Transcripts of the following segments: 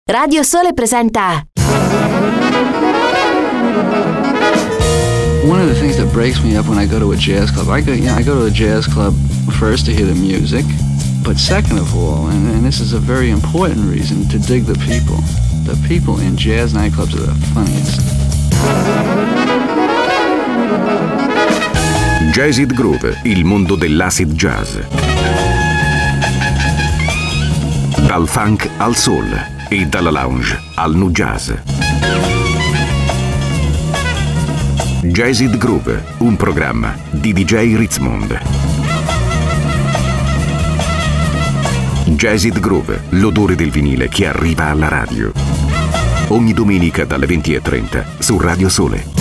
Radio Sole presenta. One of the things that breaks me up when I go to a jazz club, I go to a jazz club first to hear the music, but second of all, and this is a very important reason, to dig the people. The people in jazz nightclubs are the funniest. Jazzid Groove, il mondo dell'acid jazz. Dal funk al soul e dalla lounge al nu jazz. Jazzid Groove, un programma di DJ Ritzmond. Jazzid Groove, l'odore del vinile che arriva alla radio. Ogni domenica dalle 20:30 su Radio Sole.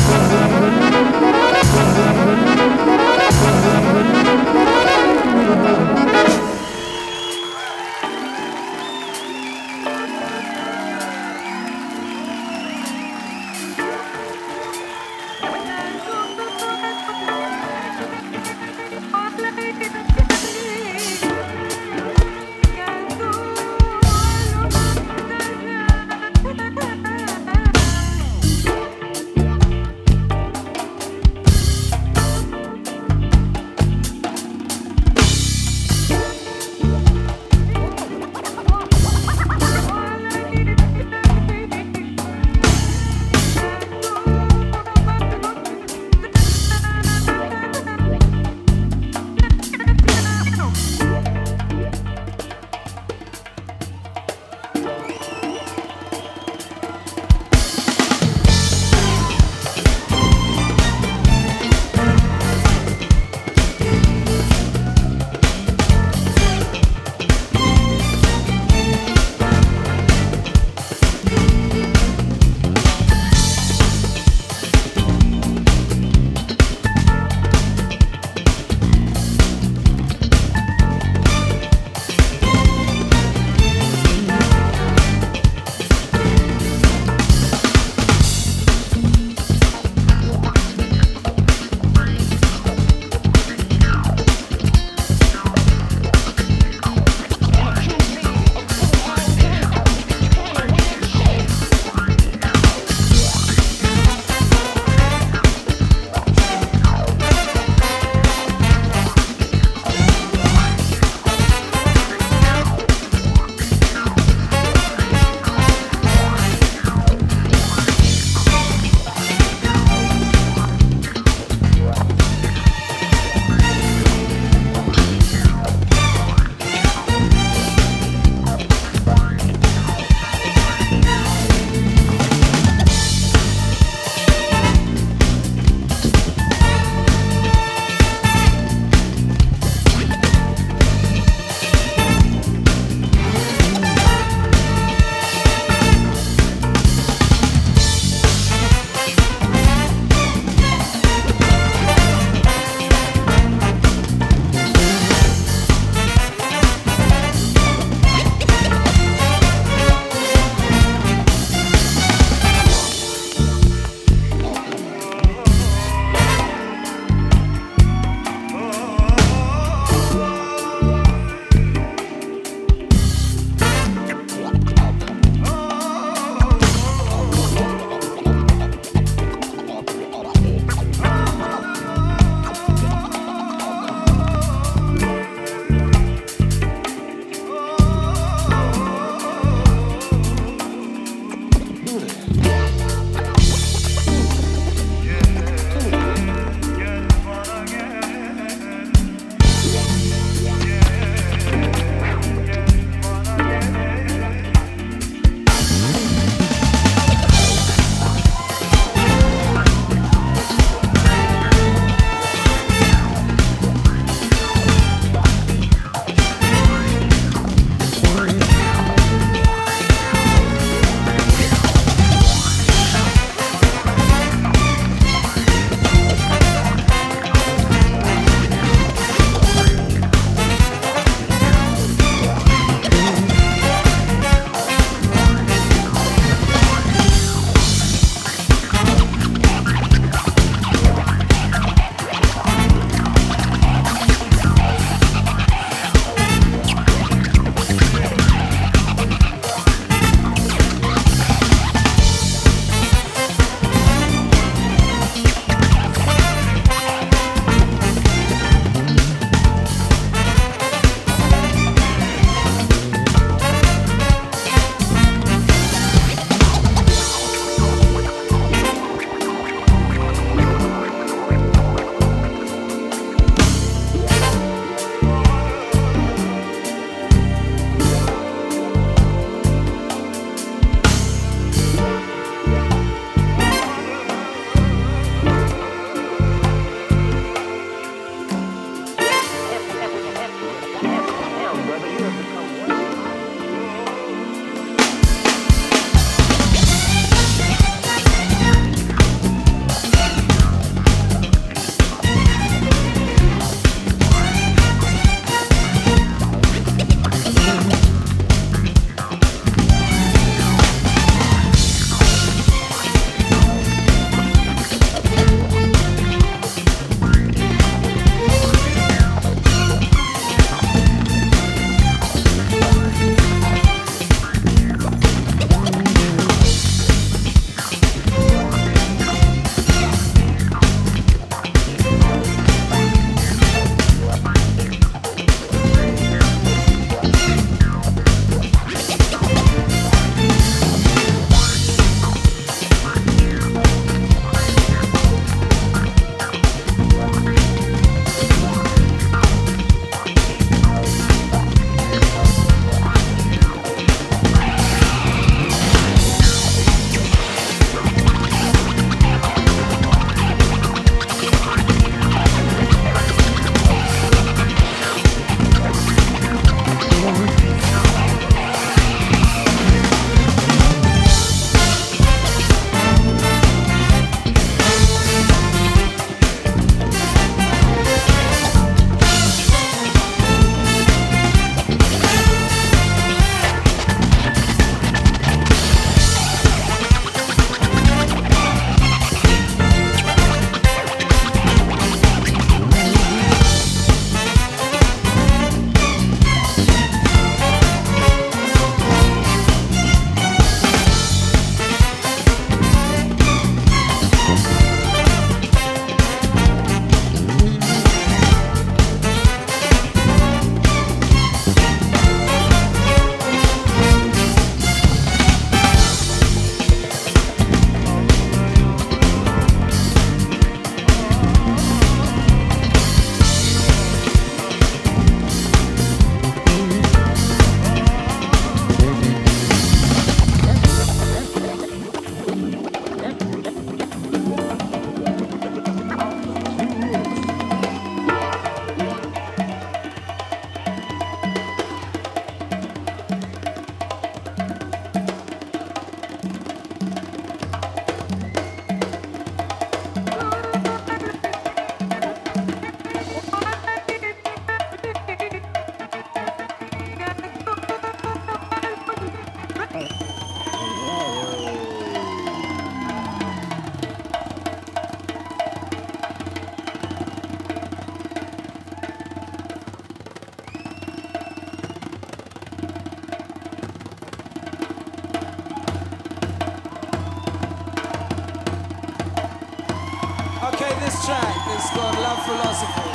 It's called Love Philosophy.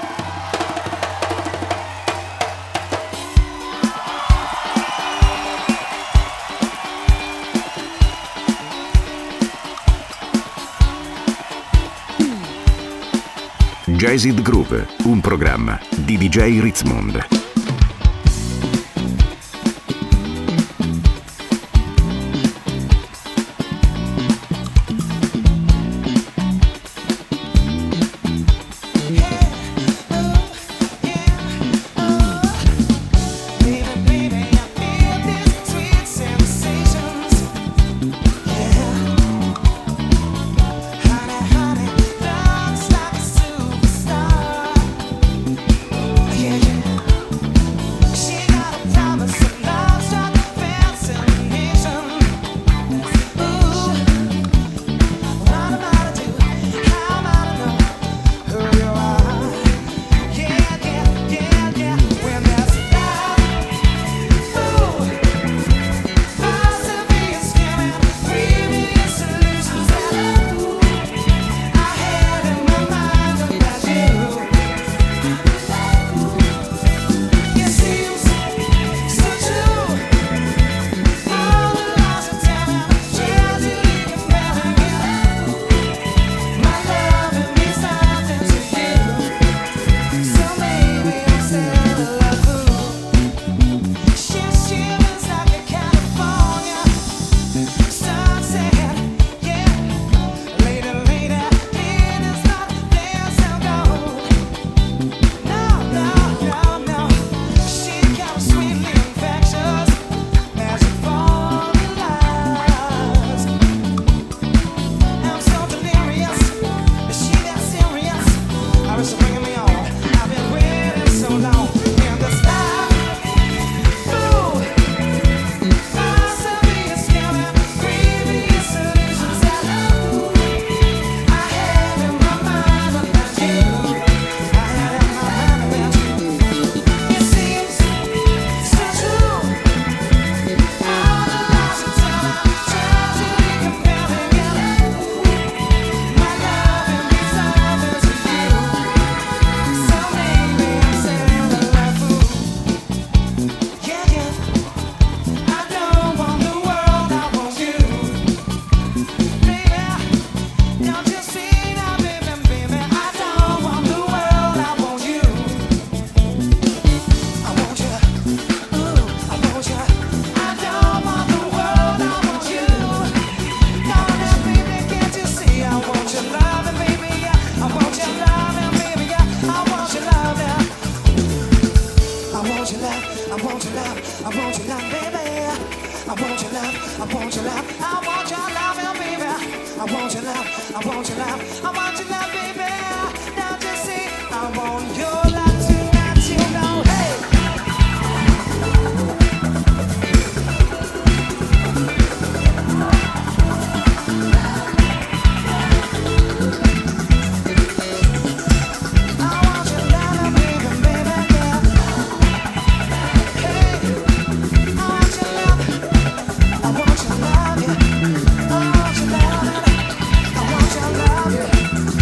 Jazzed Groove, un programma di DJ Ritzmond. I want your love, yeah.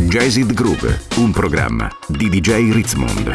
Jazzed Groove, un programma di DJ Ritzmond.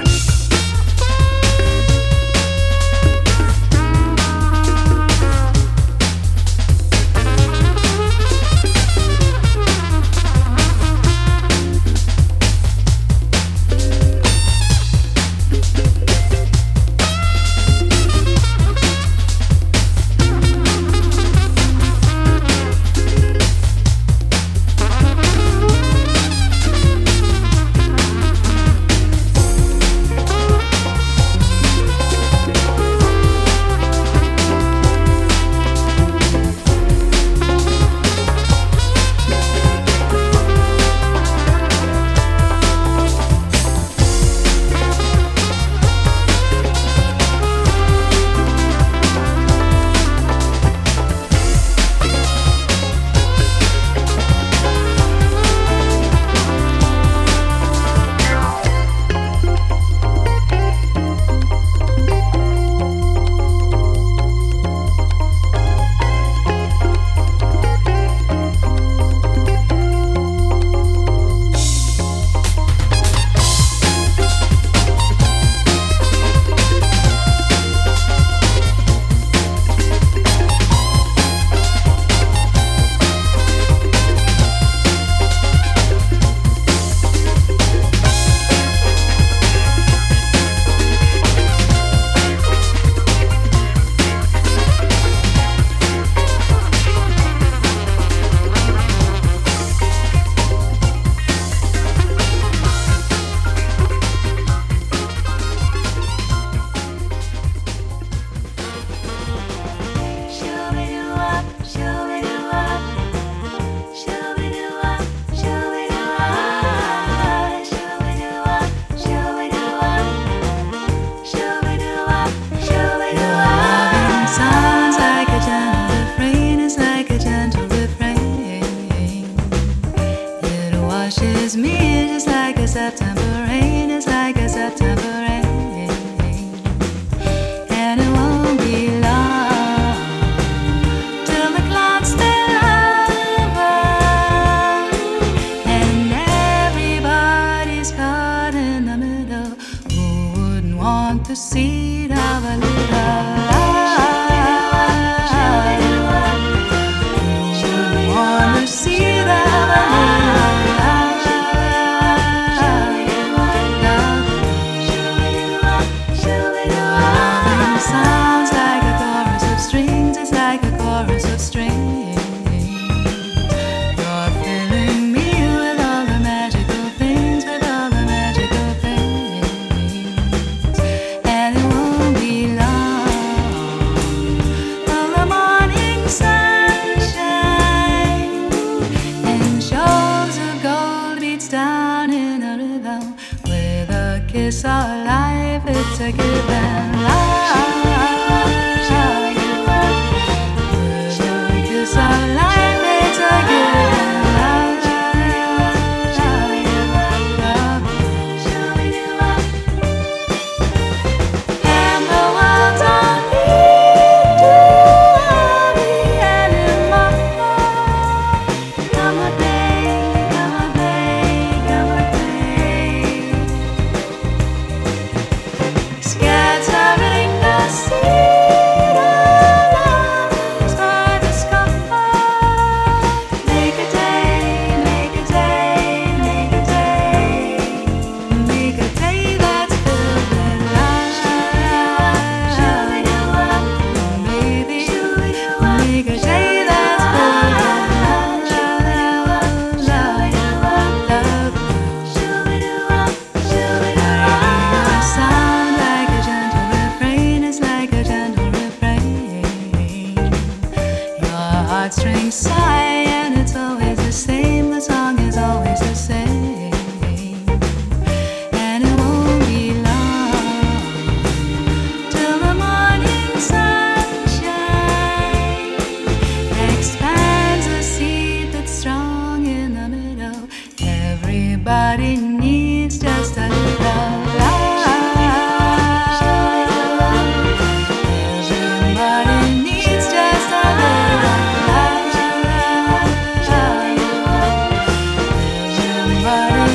Everybody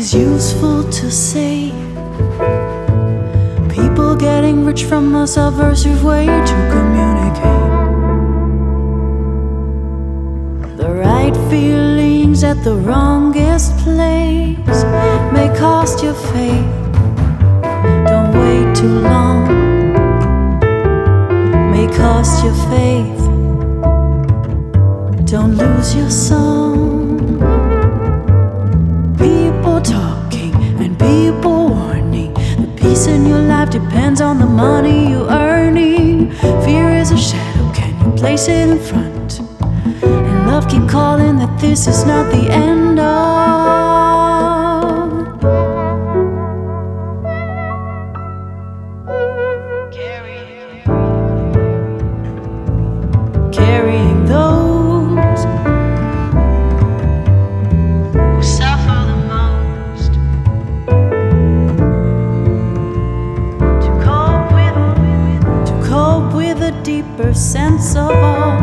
is useful to say. People getting rich from a subversive way to communicate. The right feelings at the wrongest place may cost your faith. Don't wait too long. May cost your faith. Don't lose your song. People talking and people warning. The peace in your life depends on the money you're earning. Fear is a shadow, can you place it in front? And love keep calling that this is not the end of. Carrying those who suffer the most, to cope with a deeper sense of awe.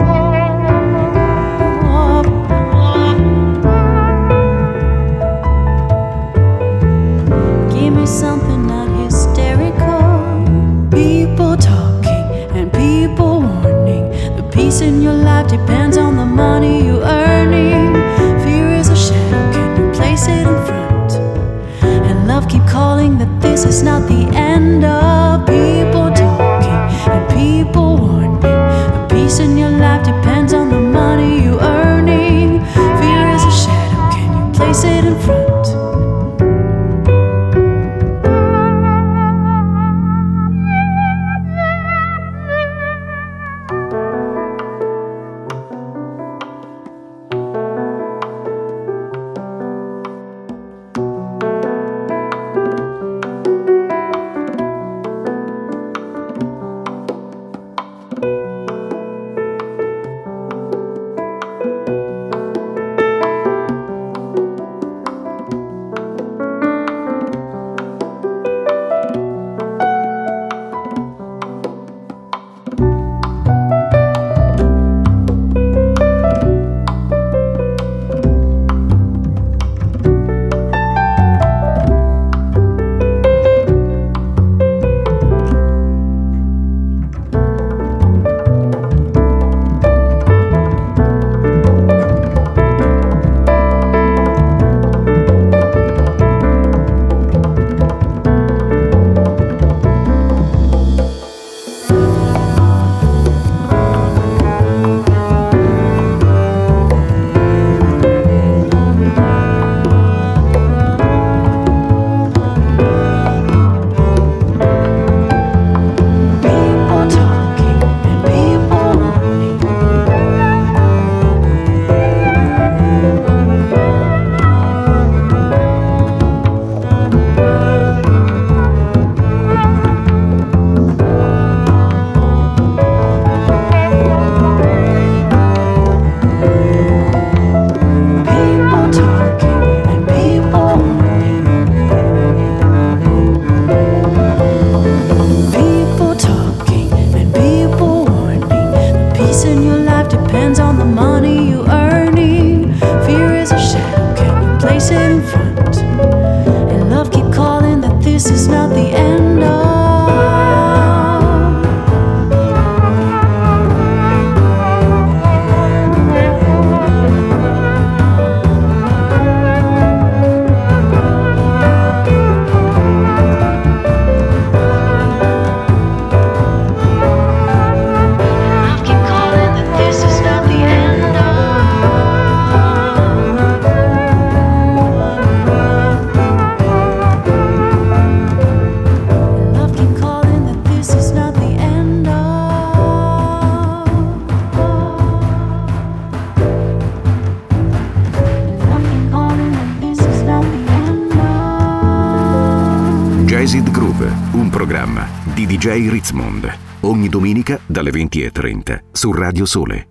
Give me something not hysterical. People talking and people warning. The peace in your life depends on the money you're earning. Fear is a shadow, can you place it in front? And love keep calling that this is not the end of. People talking and people warning. The peace in your life depends on the money you're earning. Fear is a shadow, can you place it in front? Jazzed Groove, un programma di DJ Ritzmond, ogni domenica dalle 20:30 su Radio Sole.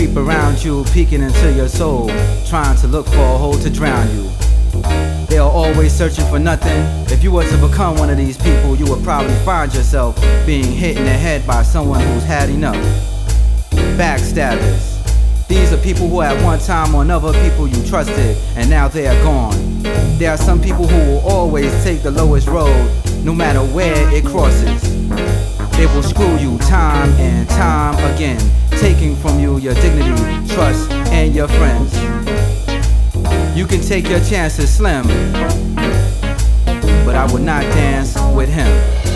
creep around you, peeking into your soul, trying to look for a hole to drown you. They are always searching for nothing. If you were to become one of these people, you would probably find yourself being hit in the head by someone who's had enough. Backstabbers. These are people who at one time or another people you trusted, and now they are gone. There are some people who will always take the lowest road, no matter where it crosses. They will screw you time and time again, taking from you your dignity, trust, and your friends. You can take your chances slim, but I would not dance with him.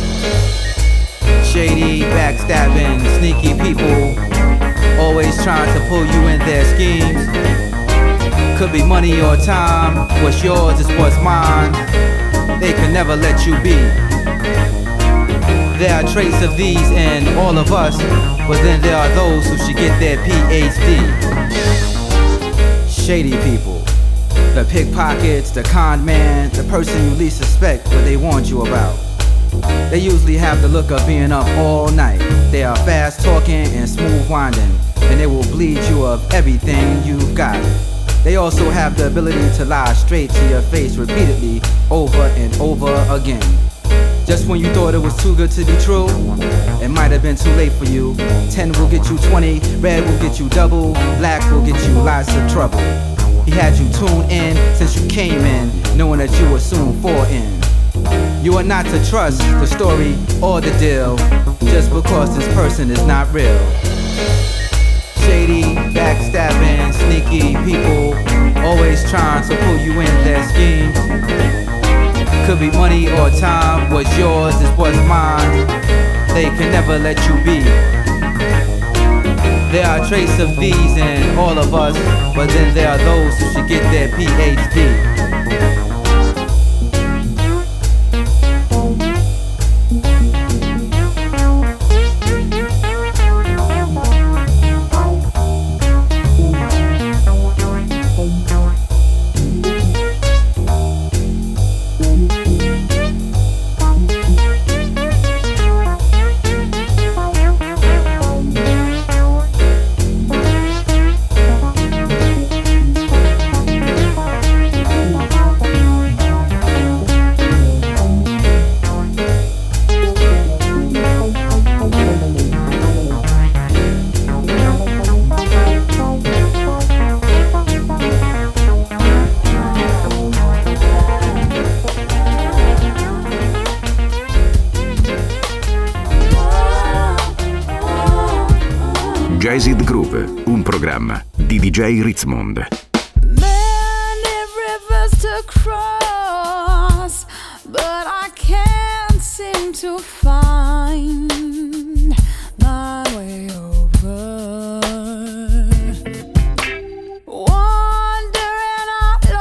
Shady, backstabbing, sneaky people, always trying to pull you in their schemes. Could be money or time, what's yours is what's mine. They can never let you be. There are traits of these in all of us, but then there are those who should get their PhD. Shady people, the pickpockets, the con man, the person you least suspect what they warned you about. They usually have the look of being up all night. They are fast talking and smooth winding, and they will bleed you of everything you've got. They also have the ability to lie straight to your face repeatedly, over and over again. Just when you thought it was too good to be true, it might have been too late for you. 10 will get you 20, red will get you double, black will get you lots of trouble. He had you tuned in since you came in, knowing that you will soon fall in. You are not to trust the story or the deal, just because this person is not real. Shady, backstabbing, sneaky people, always trying to pull you in their schemes. Could be money or time, what's yours is what's mine. They can never let you be. There are traits of these in all of us, but then there are those who should get their PhD. Jazzed Groove, un programma di DJ Ritzmond. Many rivers to cross, but I can't seem to find my way over. Wandering out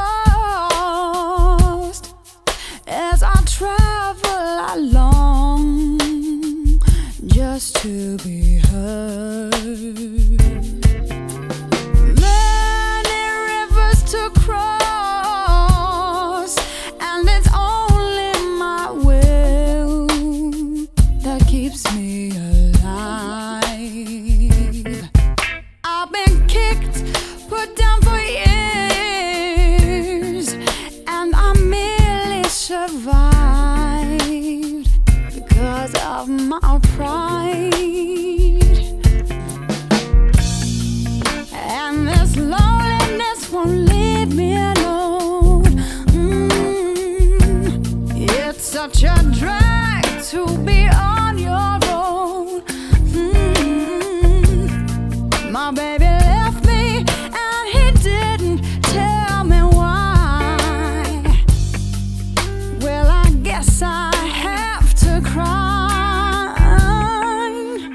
lost as I travel along, just to be heard. Many rivers to cross, and it's only my will that keeps me alive. I've been kicked, put down for years, and I merely survived because of my pride. And this loneliness won't leave me alone. It's such a drag to be on your own. My baby left me and he didn't tell me why. Well, I guess I have to cry.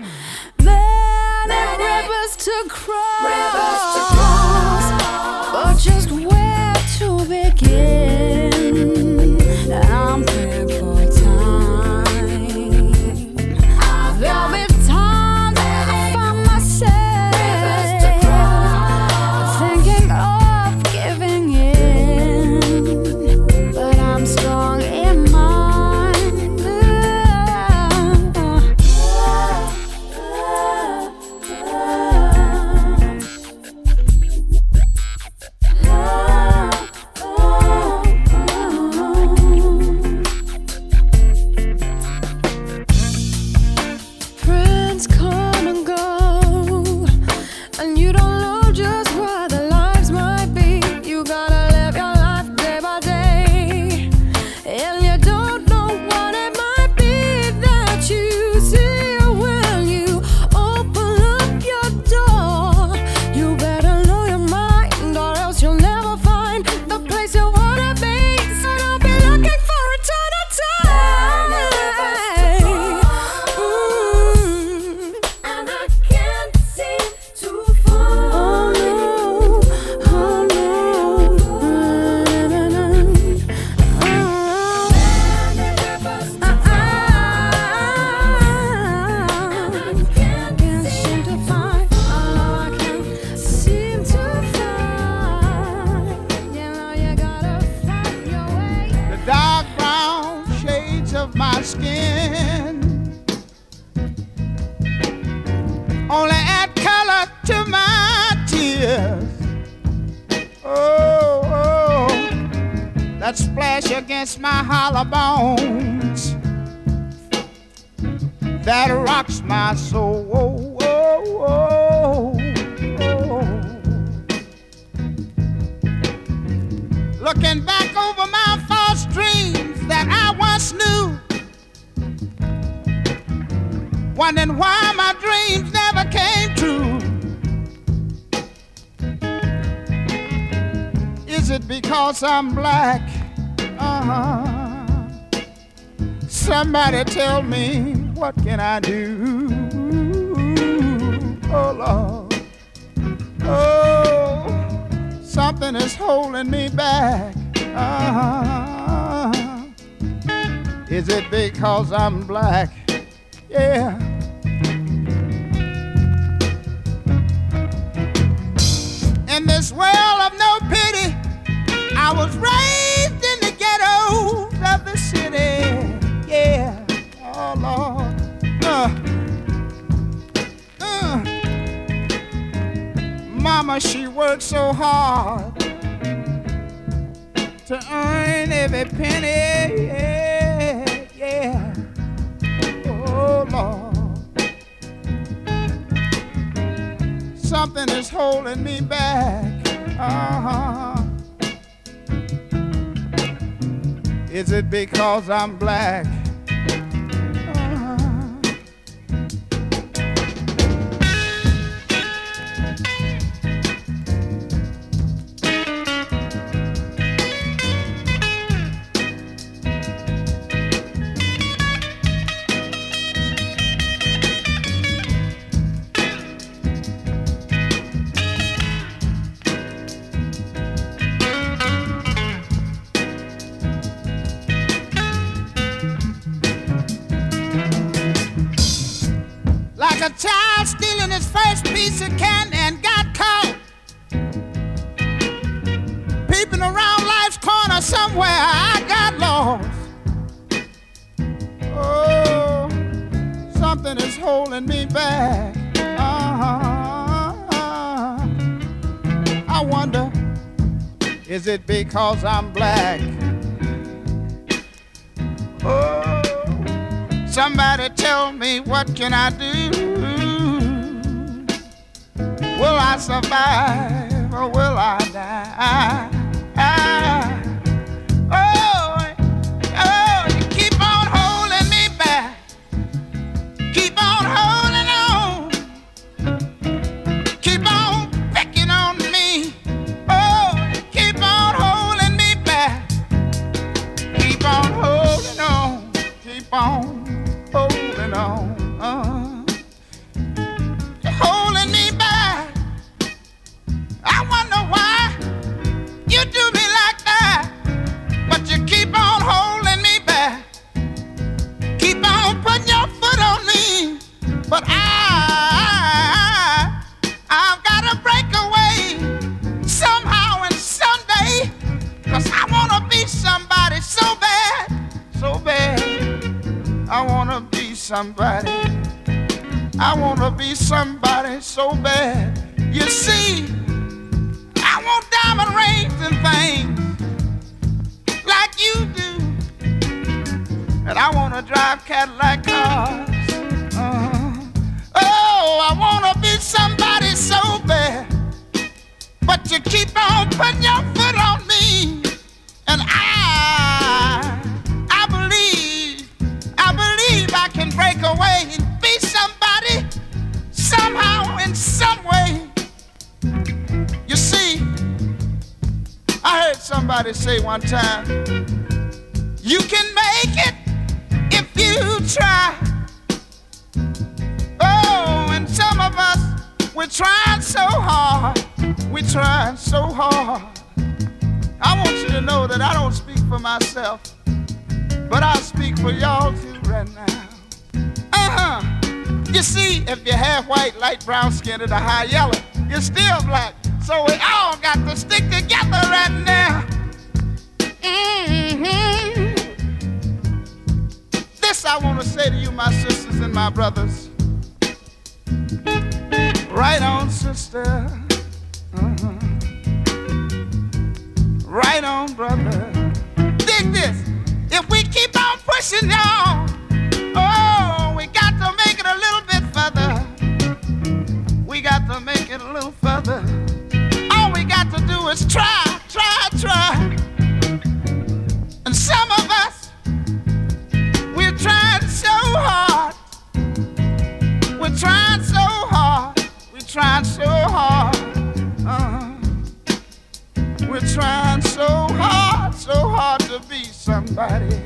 sin. Only add color to my tears. Oh, oh, that splash against my hollow bones that rocks my soul. Oh, oh, oh, oh. Looking back over my false dreams that I once knew, wondering why my dreams never came true. Is it because I'm black? Somebody tell me, what can I do? Oh Lord, oh, something is holding me back. Is it because I'm black? Yeah. In this world of no pity, I was raised in the ghettos of the city. Yeah, oh Lord. Mama, she worked so hard to earn every penny. Yeah, yeah. Oh Lord, something is holding me back. Is it because I'm black? A child stealing his first piece of candy and got caught peeping around life's corner somewhere. I got lost. Oh, something is holding me back. I wonder, is it because I'm black? Oh, somebody tell me, what can I do? Will I survive or will I die? Oh, oh, you keep on holding me back. Keep on holding on. Keep on picking on me. Oh, you keep on holding me back. Keep on holding on. Keep on holding on. Holding me back. I wonder why you do me like that, but you keep on holding me back. Keep on putting your foot on me, but I've got to break away somehow and someday, 'cause I want to be somebody so bad, so bad. I want to be somebody. I want to be somebody so bad. You see, I want diamond rings and things like you do, and I want to drive Cadillac cars. Oh, I want to be somebody so bad, but you keep on putting your foot on me, and I believe I can break away and be somebody somehow in some way. You see, I heard somebody say one time, you can make it if you try. Oh, and some of us, we're trying so hard. We're trying so hard. I want you to know that I don't speak for myself, but I speak for y'all too right now. You see, if you're half white, light brown skinned, or high yellow, you're still black. So we all got to stick together right now. This This I want to say to you, my sisters and my brothers. Right on, sister. Right on, brother. Dig this. If we keep on pushing, y'all, oh, we got to make it a little bit further. We got to make it a little further. All we got to do is try. And some of us, we're trying so hard. We're trying so hard. We're trying so hard. We're trying so hard to be somebody.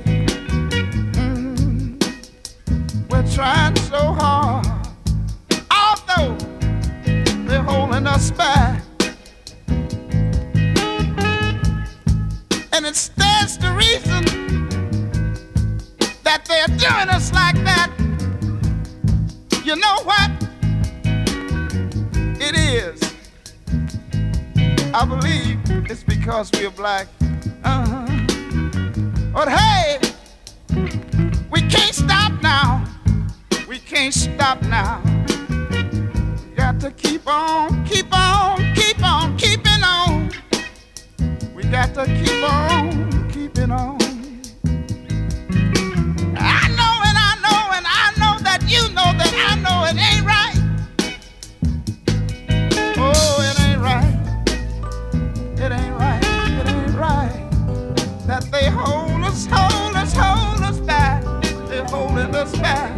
We're trying so hard. Although they're holding us back. And that's the reason that they're doing us like that. You know what? It is. I believe it's because we're black. But hey, we can't stop now. We can't stop now. We got to keep on keeping on. We got to keep on keeping on. I know that you know that I know it ain't right. Oh, it ain't right. It ain't right. It ain't right. That they hold us back. They're holding us back.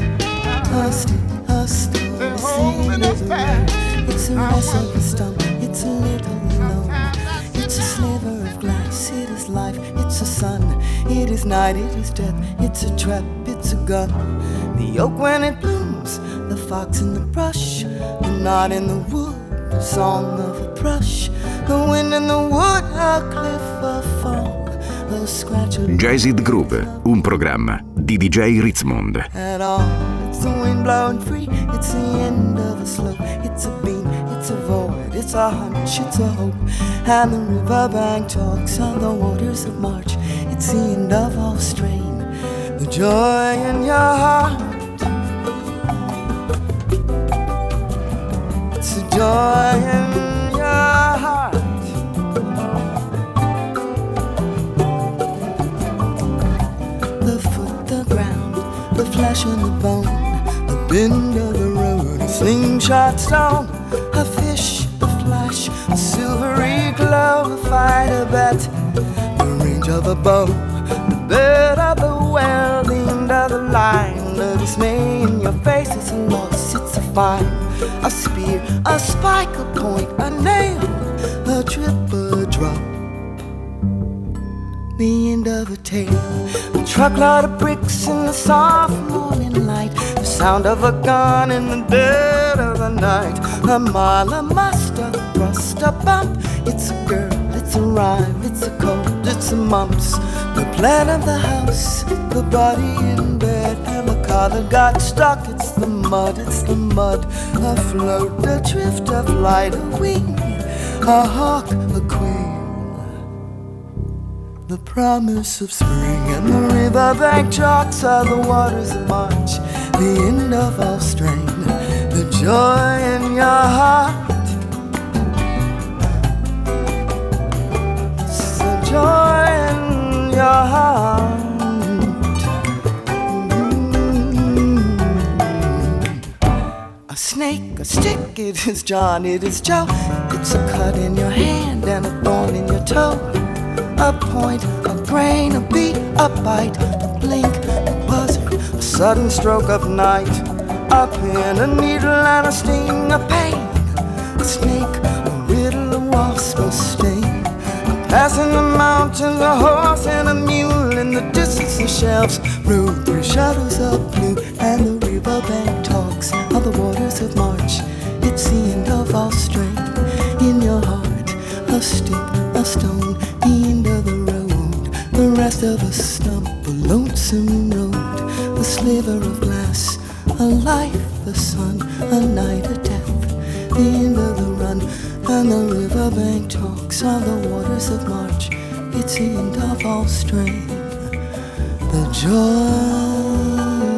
They're holding us back. It's a rest of a stump. It's a little alone. It's a sliver of glass. It is life. It's a sun. It is night. It is death. It's a trap. It's a gun. The oak when it blooms. The fox in the brush. The knot in the wood. The song of a thrush. The wind in the wood. A cliff, a fall. A scratch. Jazzed Groove, un programma di DJ Ritzmond. At all. It's the wind blowing free. It's the end of a slope. It's a beam. It's a void. It's a hunch. It's a hope. And the riverbank talks on the waters of March. It's the end of all strain. The joy in your heart. It's the joy in your heart. The foot, the ground, the flesh and the bone, the bend of the road, a slingshot stone, a fish, a flash, a silvery glow, a fight, a bet, the range of a bow, the bed of the well, the end of the line, the dismay in your face, it's a loss, it's a fine, a spear, a spike, a point, a nail, a trip, a drop, the end of a tale, a truckload of bricks in the soft morning light, the sound of a gun in the dead of the night, a mile, a muster, a thrust, a bump, it's a girl, it's a rhyme, it's a cold, it's a mumps, the plan of the house, the body in bed, and the car that got stuck, it's the mud, afloat, a drift, a flight, a wing, a hawk, a queen. The promise of spring and the riverbank chalks are the waters of March, the end of all strain, the joy in your heart. It's the joy in your heart. A snake, a stick, it is John, it is Joe. It's a cut in your hand and a thorn in your toe. A point, a grain, a beat, a bite, a blink, a buzzard, a sudden stroke of night, a pin, a needle and a sting, a pain, a snake, a riddle, a wasp, a sting, a pass in the mountains, a horse and a mule in the distance, the shelves, road, three shadows of blue, and the riverbank talks of the waters of March. It's the end of all strength in your heart, a stick, a stone, the end of the road, the rest of a stump, a lonesome road, a sliver of glass, a life, a sun, a night, a death, the end of the run, and the riverbank talks on the waters of March. It's the end of all strain, the joy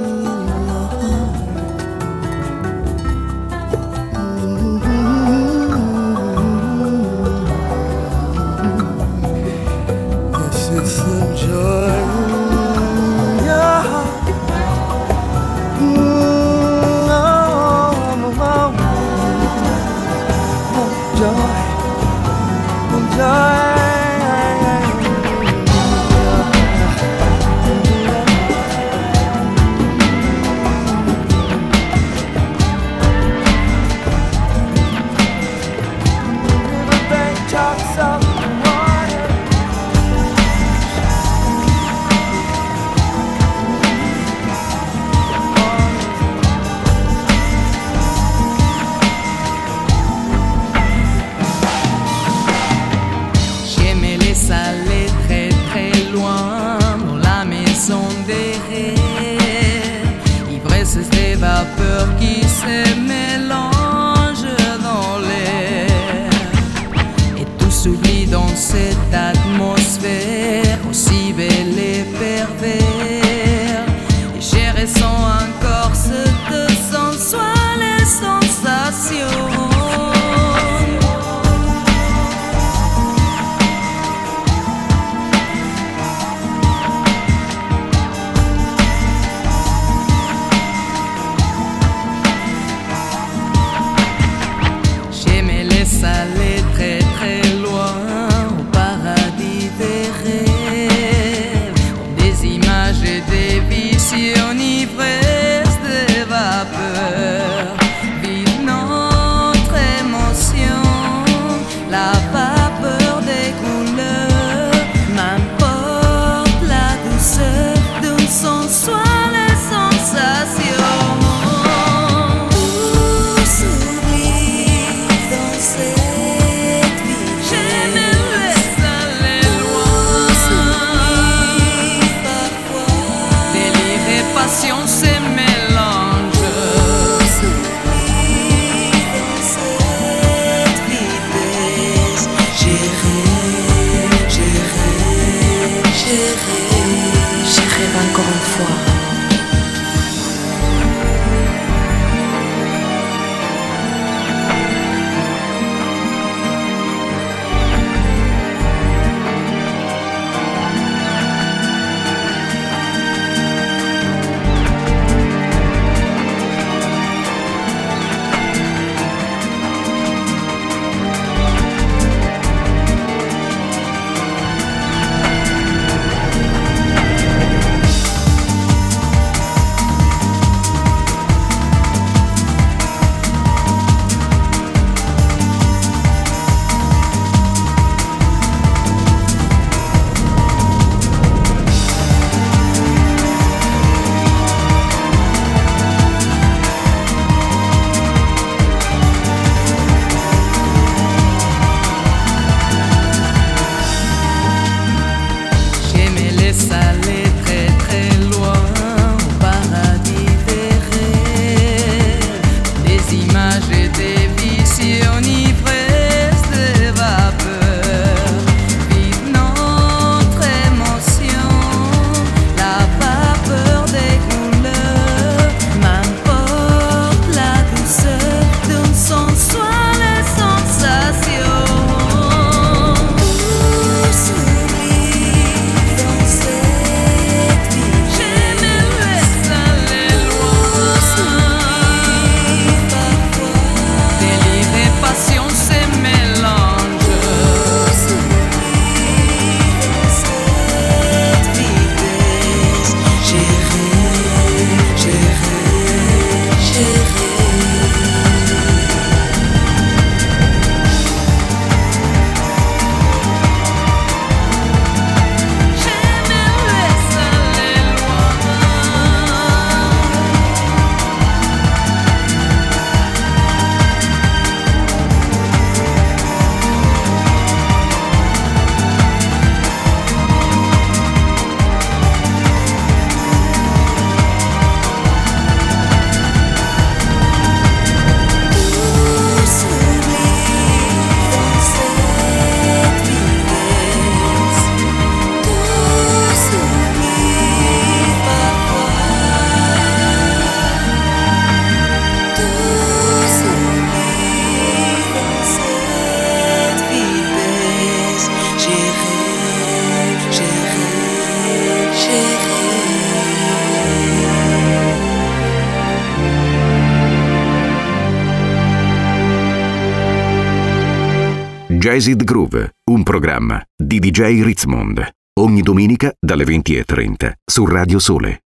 Jazzed Groove, un programma di DJ Ritzmond. Ogni domenica dalle 20:30 su Radio Sole.